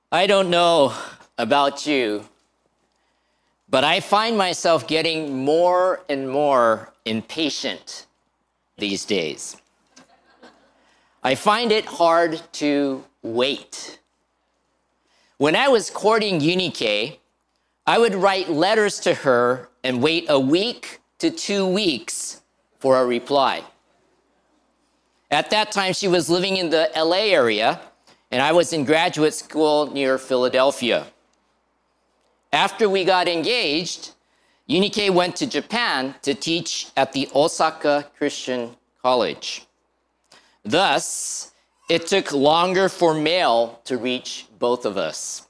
I don't know about you, but I find myself getting more and more impatient these days. I find it hard to wait. When I was courting Eunike, I would write letters to her and wait a week to 2 weeks for a reply. At that time, she was living in the LA area, and I was in graduate school near Philadelphia. After we got engaged, Eunike went to Japan to teach at the Osaka Christian College. Thus, it took longer for mail to reach both of us.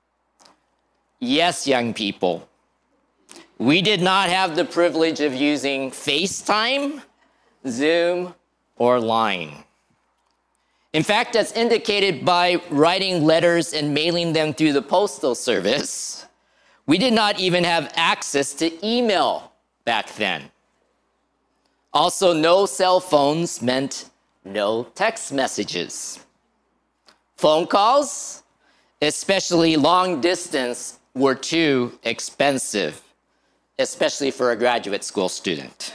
Yes, young people, we did not have the privilege of using FaceTime, Zoom, or Line. In fact, as indicated by writing letters and mailing them through the postal service, we did not even have access to email back then. Also, no cell phones meant no text messages. Phone calls, especially long distance, were too expensive, especially for a graduate school student.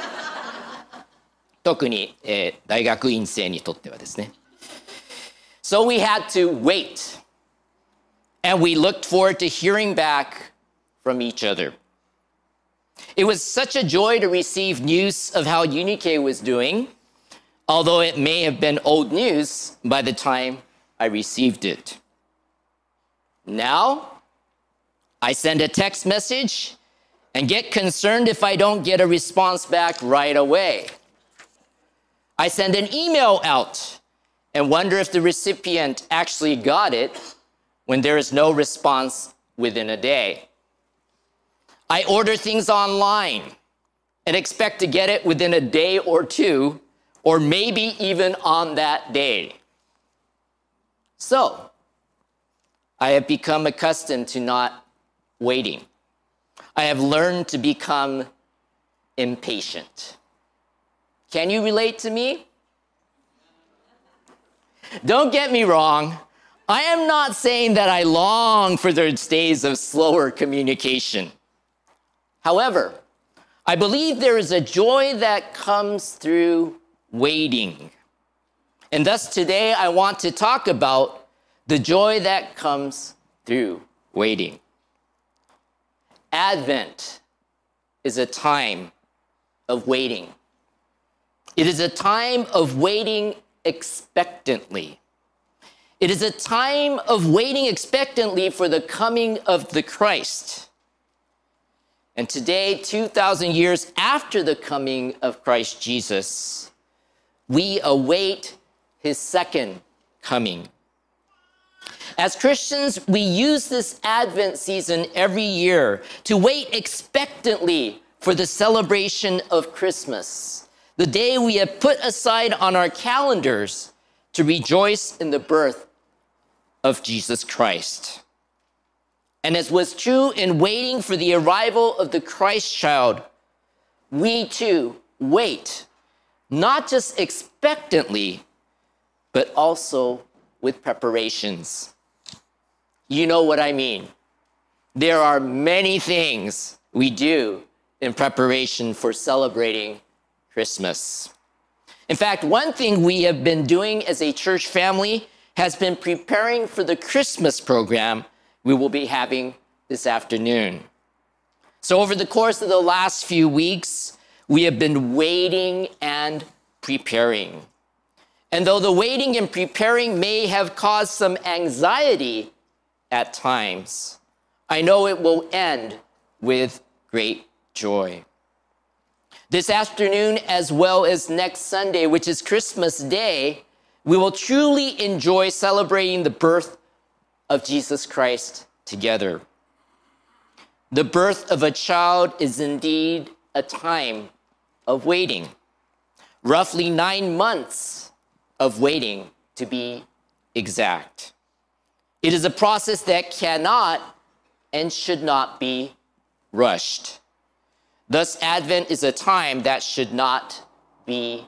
特に、大学院生にとってはですね。So we had to wait, and we looked forward to hearing back from each other. It was such a joy to receive news of how Eunike was doing, although it may have been old news by the time I received it. Now, I send a text message and get concerned if I don't get a response back right away. I send an email out and wonder if the recipient actually got it when there is no response within a day. I order things online and expect to get it within a day or two, or maybe even on that day. So, I have become accustomed to not waiting. I have learned to become impatient. Can you relate to me? Don't get me wrong. I am not saying that I long for those days of slower communication. However, I believe there is a joy that comes through waiting. And thus today I want to talk about the joy that comes through waiting. Advent is a time of waiting. It is a time of waiting expectantly. It is a time of waiting expectantly for the coming of the Christ. And today, 2,000 years after the coming of Christ Jesus, we await his second coming. As Christians, we use this Advent season every year to wait expectantly for the celebration of Christmas, the day we have put aside on our calendars to rejoice in the birth of Jesus Christ. And as was true in waiting for the arrival of the Christ child, we too wait, not just expectantly, but also with preparations. You know what I mean. There are many things we do in preparation for celebrating Christmas. In fact, one thing we have been doing as a church family has been preparing for the Christmas program we will be having this afternoon. So over the course of the last few weeks, we have been waiting and preparing. And though the waiting and preparing may have caused some anxiety at times, I know it will end with great joy. This afternoon, as well as next Sunday, which is Christmas Day, we will truly enjoy celebrating the birth of Jesus Christ together. The birth of a child is indeed a time of waiting. Roughly 9 months of waiting, to be exact. It is a process that cannot and should not be rushed. Thus, Advent is a time that should not be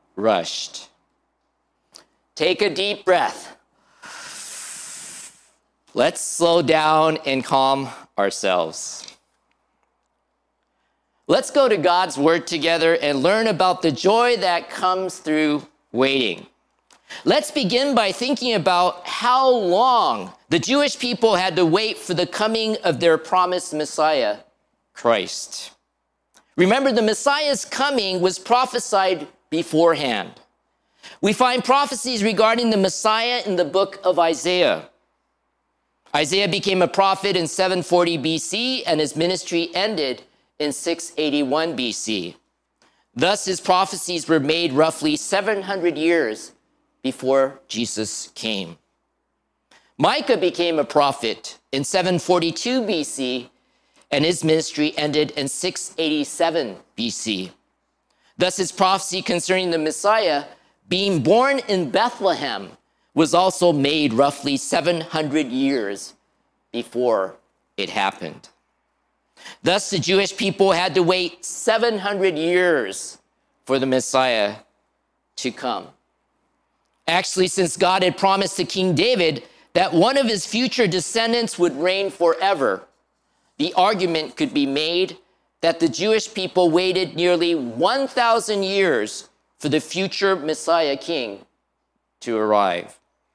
rushed. Take a deep breath. Let's slow down and calm ourselves. Let's go to God's word together and learn about the joy that comes through waiting. Let's begin by thinking about how long the Jewish people had to wait for the coming of their promised Messiah, Christ. Remember, the Messiah's coming was prophesied beforehand. We find prophecies regarding the Messiah in the book of Isaiah. Isaiah became a prophet in 740 BC, and his ministry ended in 681 BC. Thus, his prophecies were made roughly 700 years before Jesus came. Micah became a prophet in 742 BC, and his ministry ended in 687 BC. Thus, his prophecy concerning the Messiah being born in Bethlehem was also made roughly 700 years before it happened. Thus, the Jewish people had to wait 700 years for the Messiah to come. Actually, since God had promised to King David that one of his future descendants would reign forever, the argument could be made that the Jewish people waited nearly 1,000 years for the future Messiah king to arrive.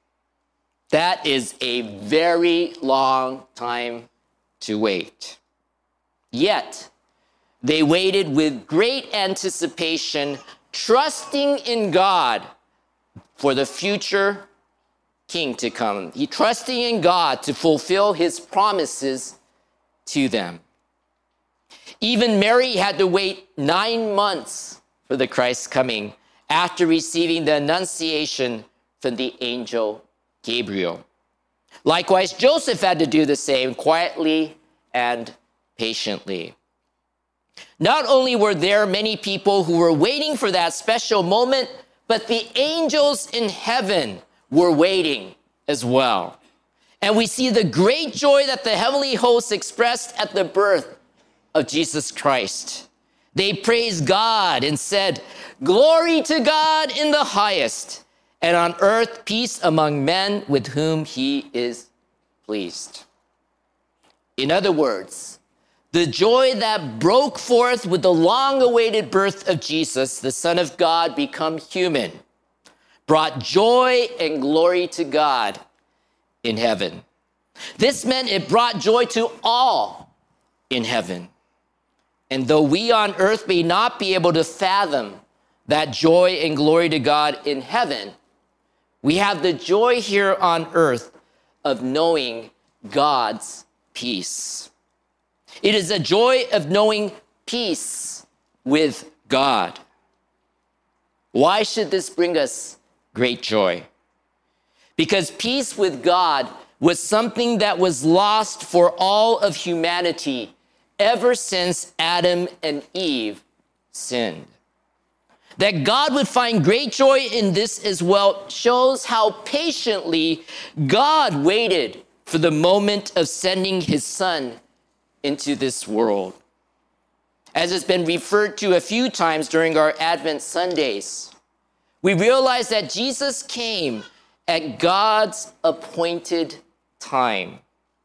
That is a very long time to wait. Yet, they waited with great anticipation, trusting in God for the future king to come. Trusting in God to fulfill his promises to them. Even Mary had to wait 9 months for the Christ's coming after receiving the annunciation from the angel Gabriel. Likewise, Joseph had to do the same quietly and patiently. Not only were there many people who were waiting for that special moment, but the angels in heaven were waiting as well. And we see the great joy that the heavenly hosts expressed at the birth of Jesus Christ. They praised God and said, "Glory to God in the highest, and on earth peace among men with whom he is pleased." In other words, the joy that broke forth with the long-awaited birth of Jesus, the Son of God become human, brought joy and glory to God in heaven. This meant it brought joy to all in heaven. And though we on earth may not be able to fathom that joy and glory to God in heaven, we have the joy here on earth of knowing God's peace. It is a joy of knowing peace with God. Why should this bring us great joy? Because peace with God was something that was lost for all of humanity ever since Adam and Eve sinned. That God would find great joy in this as well shows how patiently God waited for the moment of sending his Son into this world. As has been referred to a few times during our Advent Sundays, we realize that Jesus came at God's appointed time.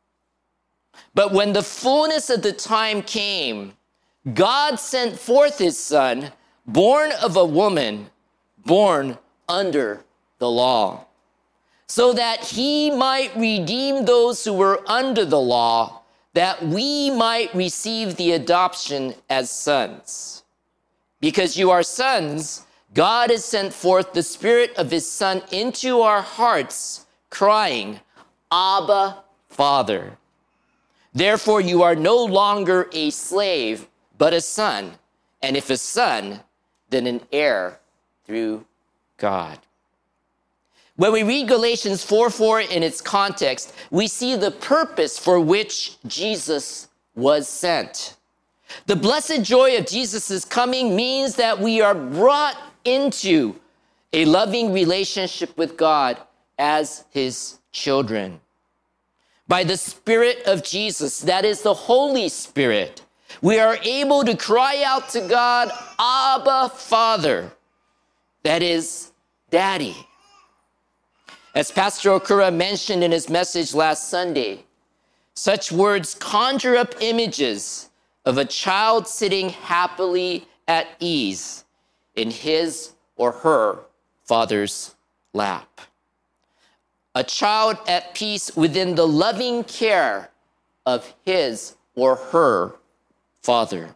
But when the fullness of the time came, God sent forth his Son, born of a woman, born under the law, so that he might redeem those who were under the law, that we might receive the adoption as sons. Because you are sons, God has sent forth the Spirit of his Son into our hearts, crying, "Abba, Father." Therefore, you are no longer a slave, but a son, and if a son, then an heir through God. When we read Galatians 4:4 in its context, we see the purpose for which Jesus was sent. The blessed joy of Jesus' coming means that we are brought into a loving relationship with God as his children. By the Spirit of Jesus, that is the Holy Spirit, we are able to cry out to God, "Abba, Father," that is, Daddy. As Pastor Okura mentioned in his message last Sunday, such words conjure up images of a child sitting happily at ease in his or her father's lap. A child at peace within the loving care of his or her father.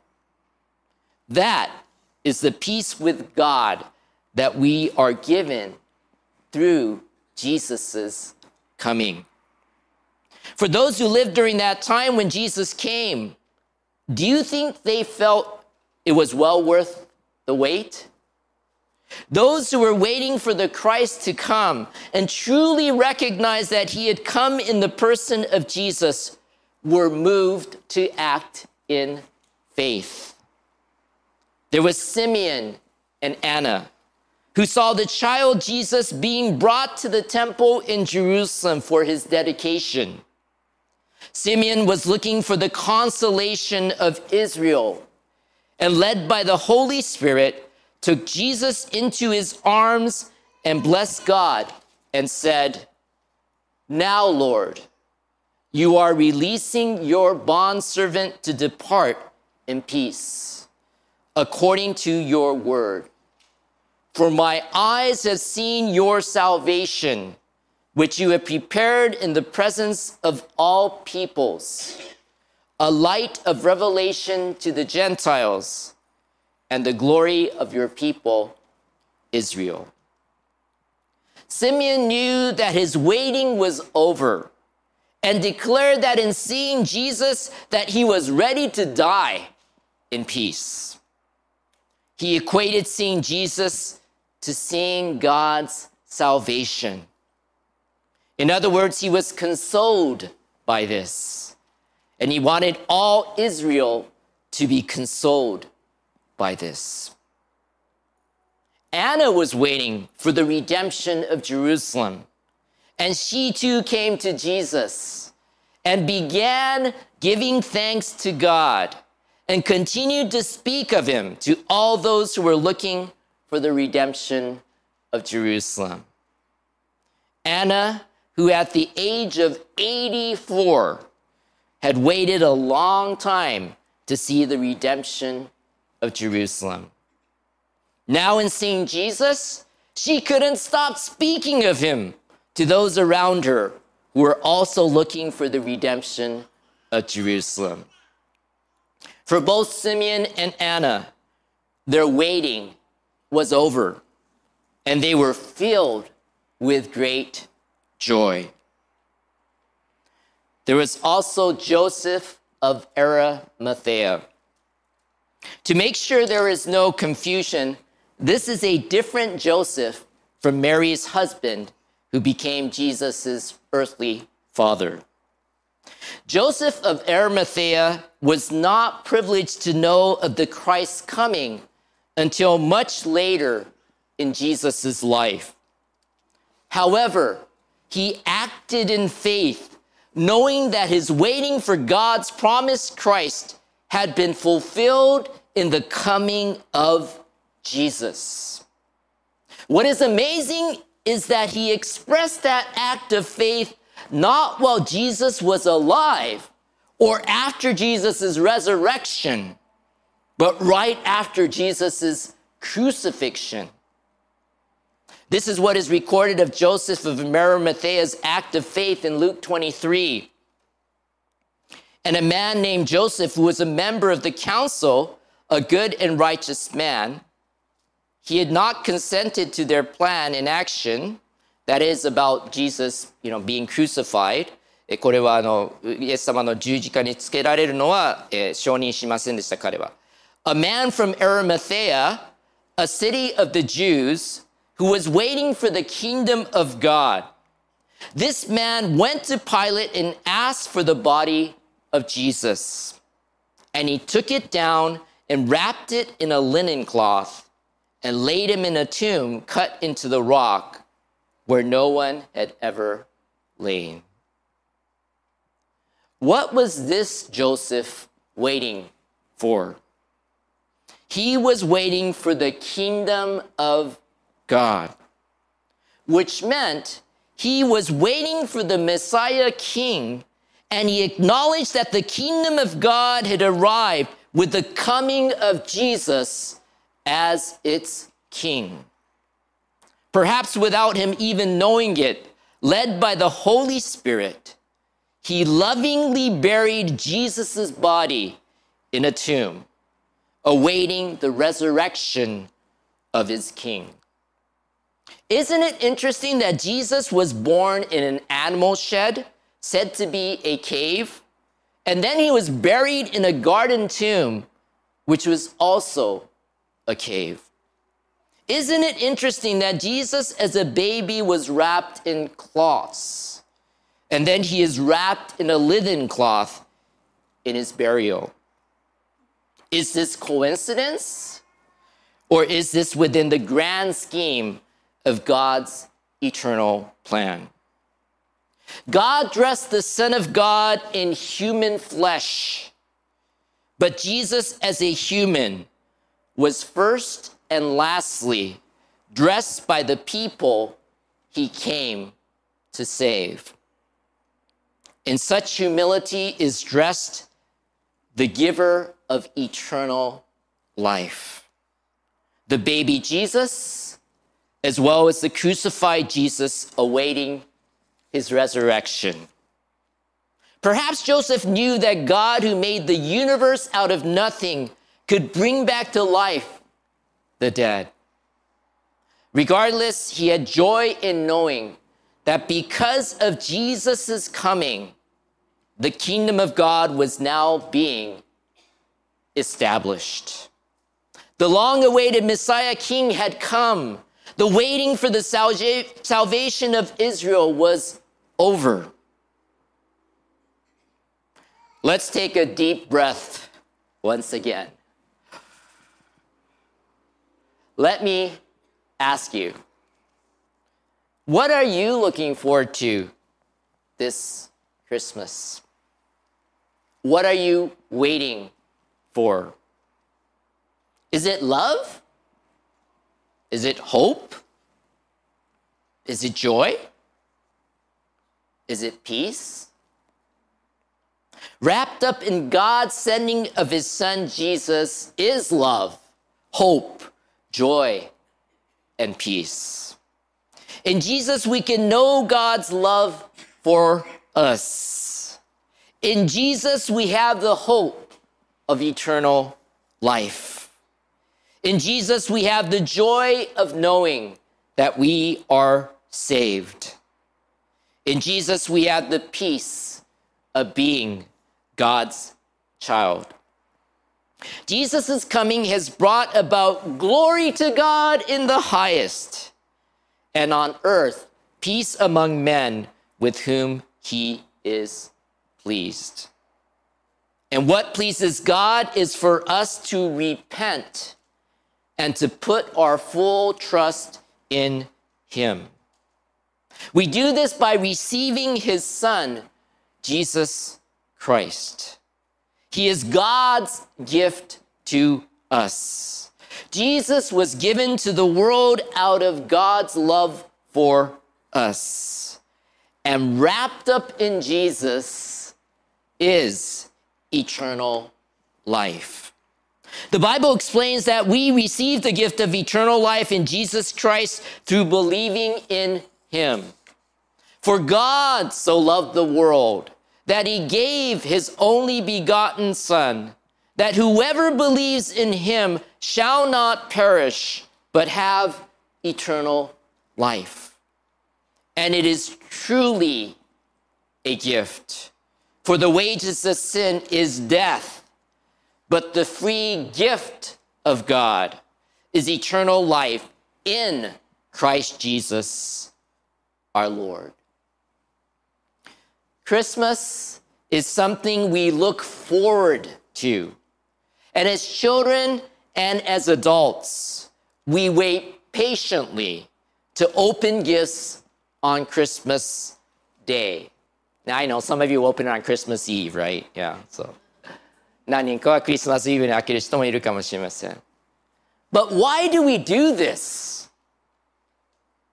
That is the peace with God that we are given through Jesus' coming. For those who lived during that time when Jesus came, do you think they felt it was well worth the wait? Those who were waiting for the Christ to come and truly recognized that he had come in the person of Jesus were moved to act in faith. There was Simeon and Anna, who saw the child Jesus being brought to the temple in Jerusalem for his dedication. Simeon was looking for the consolation of Israel, and led by the Holy Spirit, took Jesus into his arms and blessed God and said, "Now, Lord, you are releasing your bondservant to depart in peace, according to your word. For my eyes have seen your salvation, which you have prepared in the presence of all peoples, a light of revelation to the Gentiles, and the glory of your people, Israel." Simeon knew that his waiting was over and declared that in seeing Jesus, that he was ready to die in peace. He equated seeing Jesus to seeing God's salvation. In other words, he was consoled by this, and he wanted all Israel to be consoled by this. Anna was waiting for the redemption of Jerusalem, and she too came to Jesus and began giving thanks to God and continued to speak of him to all those who were looking for the redemption of Jerusalem. Anna, who at the age of 84 had waited a long time to see the redemption of Jerusalem. Now in seeing Jesus, she couldn't stop speaking of him to those around her who were also looking for the redemption of Jerusalem. For both Simeon and Anna, their waiting was over, and they were filled with great joy. There was also Joseph of Arimathea. To make sure there is no confusion, this is a different Joseph from Mary's husband, who became Jesus' earthly father. Joseph of Arimathea was not privileged to know of the Christ's coming until much later in Jesus' life. However, he acted in faith, knowing that his waiting for God's promised Christ had been fulfilled in the coming of Jesus. What is amazing is that he expressed that act of faith not while Jesus was alive or after Jesus' resurrection, but right after Jesus' crucifixion. This is what is recorded of Joseph of Arimathea's act of faith in Luke 23. And a man named Joseph, who was a member of the council, a good and righteous man, he had not consented to their plan in action, that is about Jesus, being crucified. これはイエス様の十字架につけられるのは承認しませんでした、彼は。A man from Arimathea, a city of the Jews, who was waiting for the kingdom of God. This man went to Pilate and asked for the body of Jesus. And he took it down and wrapped it in a linen cloth and laid him in a tomb cut into the rock where no one had ever lain. What was this Joseph waiting for? He was waiting for the kingdom of God, which meant He was waiting for the Messiah King, and he acknowledged that the kingdom of God had arrived with the coming of Jesus as its king. Perhaps without him even knowing it, led by the Holy Spirit, he lovingly buried Jesus' body in a tomb, awaiting the resurrection of his king. Isn't it interesting that Jesus was born in an animal shed, said to be a cave, and then he was buried in a garden tomb, which was also a cave? Isn't it interesting that Jesus as a baby was wrapped in cloths, and then he is wrapped in a linen cloth in his burial? Is this coincidence? Or is this within the grand scheme of God's eternal plan? God dressed the Son of God in human flesh, but Jesus as a human was first and lastly dressed by the people he came to save. In such humility is dressed the giver of eternal life, the baby Jesus, as well as the crucified Jesus awaiting his resurrection. Perhaps Joseph knew that God, who made the universe out of nothing, could bring back to life the dead. Regardless, he had joy in knowing that because of Jesus' coming, the kingdom of God was now being established. The long-awaited Messiah King had come. The waiting for the salvation of Israel was over. Let's take a deep breath once again. Let me ask you, what are you looking forward to this Christmas? What are you waiting for? Is it love? Is it hope? Is it joy? Is it peace? Wrapped up in God's sending of his son Jesus is love, hope, joy, and peace. In Jesus, we can know God's love for us. In Jesus, we have the hope of eternal life. In Jesus, we have the joy of knowing that we are saved. In Jesus, we have the peace of being God's child. Jesus' coming has brought about glory to God in the highest, and on earth, peace among men with whom he is pleased. And what pleases God is for us to repent and to put our full trust in him. We do this by receiving his son, Jesus Christ. He is God's gift to us. Jesus was given to the world out of God's love for us. And wrapped up in Jesus is eternal life. The Bible explains that we receive the gift of eternal life in Jesus Christ through believing in him. For God so loved the world that he gave his only begotten Son, that whoever believes in him shall not perish, but have eternal life. And it is truly a gift. For the wages of sin is death, but the free gift of God is eternal life in Christ Jesus, our Lord. Christmas is something we look forward to. And as children and as adults, we wait patiently to open gifts on Christmas Day. Now, I know some of you open it on Christmas Eve, right? Yeah, so. 何人かはクリスマスイブに開ける人もいるかもしれません。But why do we do this?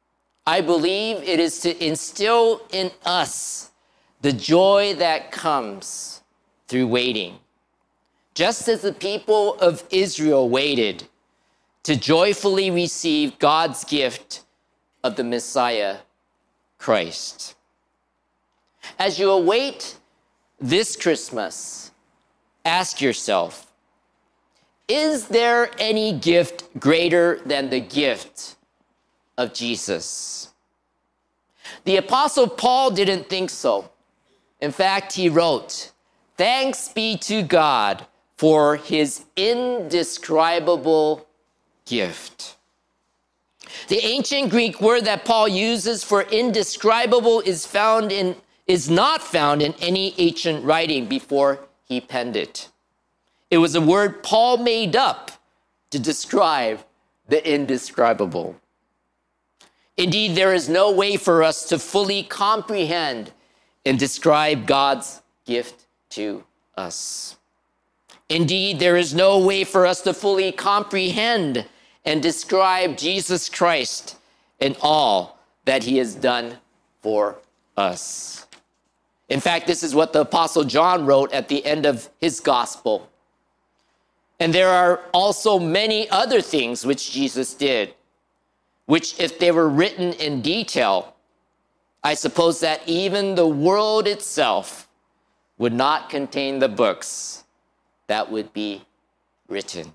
I believe it is to instill in us the joy that comes through waiting. Just as the people of Israel waited to joyfully receive God's gift of the Messiah, Christ. As you await this Christmas, ask yourself, is there any gift greater than the gift of Jesus? The Apostle Paul didn't think so. In fact, he wrote, "Thanks be to God for his indescribable gift." The ancient Greek word that Paul uses for indescribable is not found in any ancient writing before he penned it. It was a word Paul made up to describe the indescribable. Indeed, there is no way for us to fully comprehend and describe God's gift to us. Indeed, there is no way for us to fully comprehend and describe Jesus Christ and all that he has done for us. In fact, this is what the Apostle John wrote at the end of his gospel. And there are also many other things which Jesus did, which if they were written in detail, I suppose that even the world itself would not contain the books that would be written.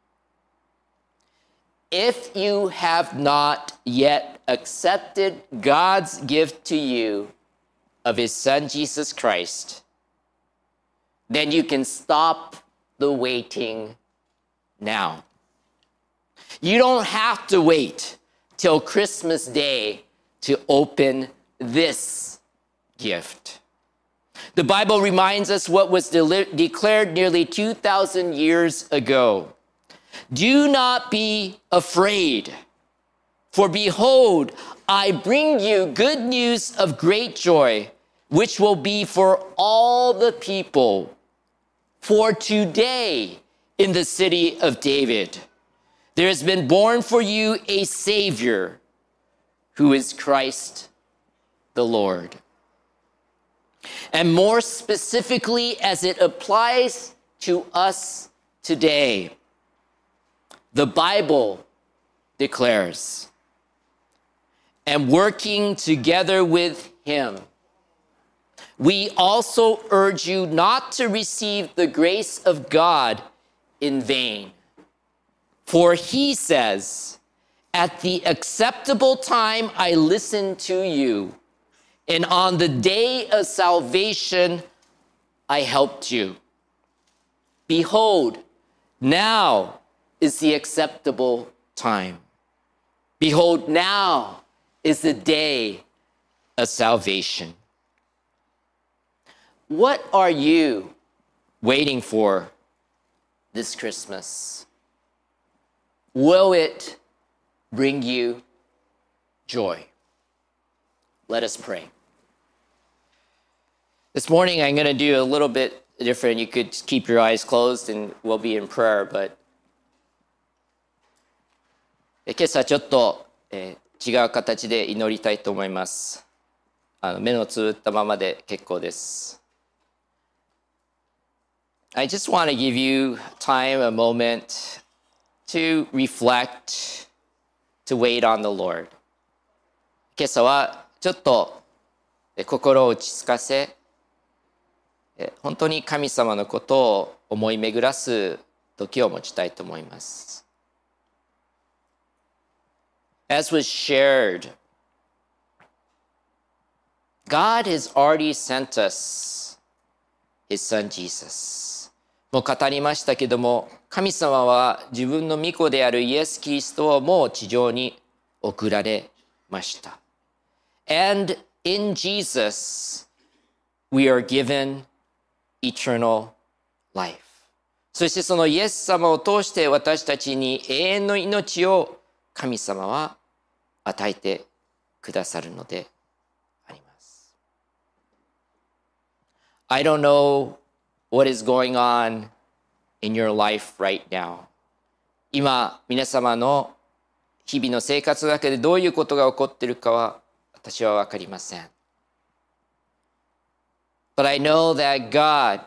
If you have not yet accepted God's gift to you of his Son, Jesus Christ, then you can stop the waiting now. You don't have to wait till Christmas Day to open this gift. The Bible reminds us what was declared nearly 2,000 years ago. Do not be afraid, for behold, I bring you good news of great joy, which will be for all the people. For today in the city of David, there has been born for you a Savior, who is Christ the Lord. And more specifically, as it applies to us today, the Bible declares, and working together with him, we also urge you not to receive the grace of God in vain. For he says, at the acceptable time I listened to you, and on the day of salvation I helped you. Behold, now is the acceptable time. Behold, now is the day of salvation. What are you waiting for this Christmas? Will it bring you joy? Let us pray. This morning, I'm going to do a little bit different. You could keep your eyes closed and we'll be in prayer, but 今朝ちょっと、違う形で祈りたいと思います。目のつぶったままで結構です。I just want to give you time, a moment to reflect, to wait on the Lord. 今朝はちょっと心を落ち着かせ、本当に神様のことを思い巡らす時を持ちたいと思います。As was shared, God has already sent us His Son Jesus. もう語りましたけども、神様は自分の御子であるイエス・キリストをもう地上に送られました。And in Jesus, we are given eternal life. そしてそのイエス様を通して私たちに永遠の命を神様は与えてくださるのであります。I don't know what is going on in your life right now. 今、皆様の日々の生活の中でどういうことが起こっているかは私は分かりません。But I know that God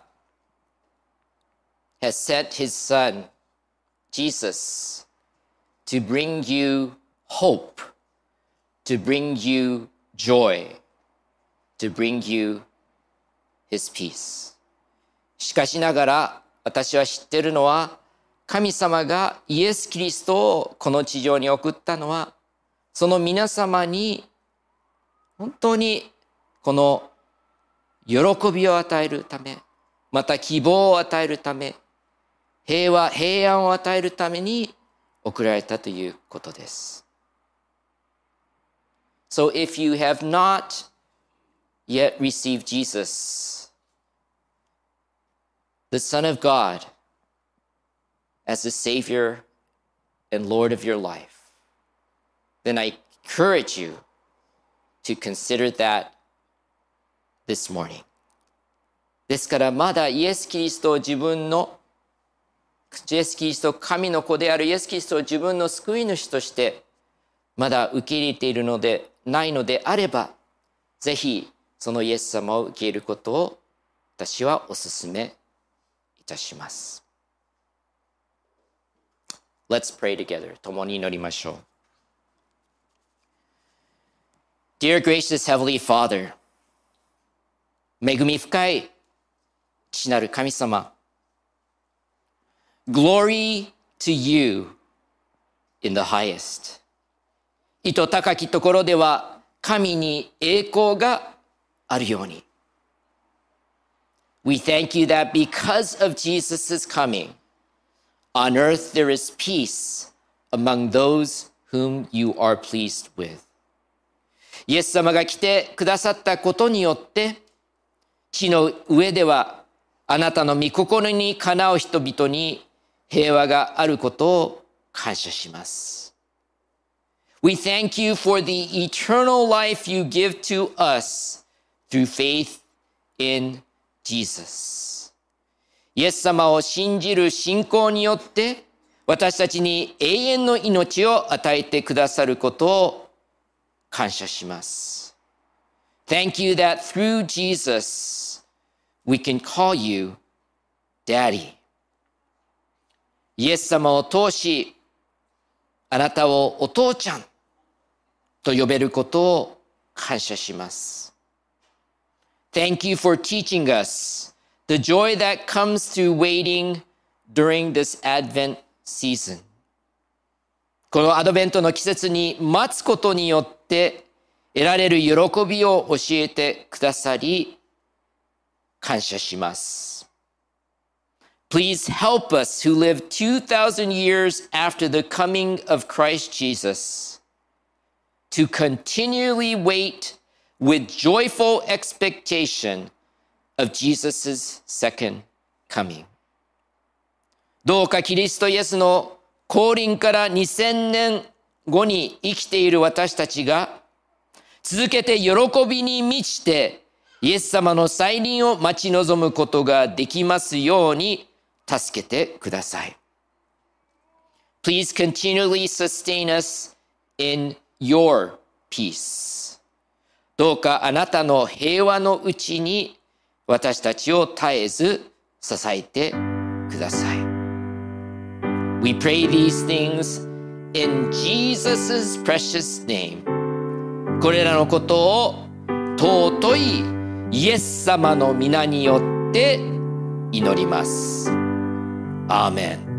has sent His Son, Jesus, to bring you hope, to bring you joy, to bring you His peace. しかしながら私は知っているのは、神様がイエス・キリストをこの地上に送ったのは、その皆様に本当にこの喜びを与えるため、また希望を与えるため、平和、平安を与えるために送られたということです。So if you have not yet received Jesus, the Son of God, as the Savior and Lord of your life, then I encourage you to consider that this morning. ですからまだイエス・キリストを神の子であるイエス・キリストを自分の救い主としてまだ受け入れているのでないのであれば、ぜひそのイエス様を受け入れることを私はお勧めいたします。Let's pray together. 共に祈りましょう。Dear gracious Heavenly Father, 恵み深い父なる神様、Glory to you in the highest. 意図高きところでは神に栄光があるように。We thank you that because of Jesus' coming, on earth there is peace among those whom you are pleased with. イエス様が来てくださったことによって、地の上ではあなたの御心にかなう人々に平和があることを感謝します。We thank you for the eternal life you give to us through faith in Jesus. イエス様を信じる信仰によって私たちに永遠の命を与えてくださることを感謝します。Thank you that through Jesus we can call you Daddy. イエス様を通し、あなたをお父ちゃんと呼べることを感謝します。Thank you for teaching us the joy that comes through waiting during this Advent season. このアドベントの季節に待つことによって得られる喜びを教えてくださり、感謝します。Please help us who live 2,000 years after the coming of Christ Jesus to continually wait with joyful expectation of Jesus' second coming. どうかキリストイエスの降臨から2000年後に生きている私たちが続けて喜びに満ちてイエス様の再臨を待ち望むことができますように助けてください。Please continually sustain us in your peace. どうかあなたの平和のうちに私たちを絶えず支えてください。We pray these things in Jesus' precious name. これらのことを尊いイエス様の皆によって祈ります。アーメン。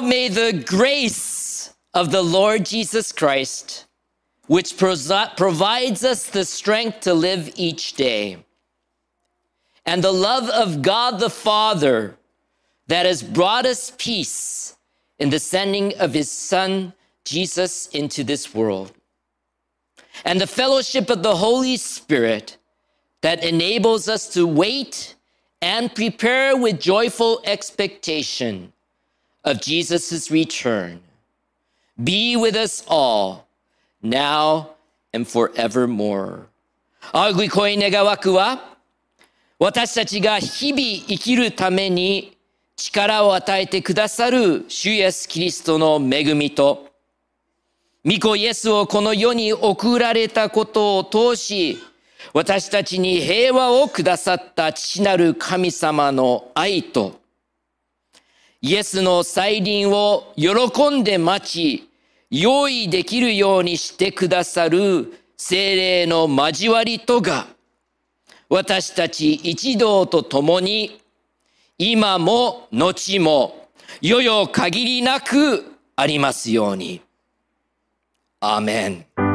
may the grace of the Lord Jesus Christ, which provides us the strength to live each day, and the love of God the Father that has brought us peace in the sending of his Son, Jesus, into this world, and the fellowship of the Holy Spirit that enables us to wait and prepare with joyful expectation of Jesus' return, be with us all, now and forevermore. 仰ぎ声願わくは、私たちが日々生きるために力を与えてくださる主イエスキリストの恵みと、御子イエスをこの世に送られたことを通し、私たちに平和をくださった父なる神様の愛と、イエスの再臨を喜んで待ち、用意できるようにしてくださる聖霊の交わりとが、私たち一同と共に、今も後も、よよ限りなくありますように。アーメン。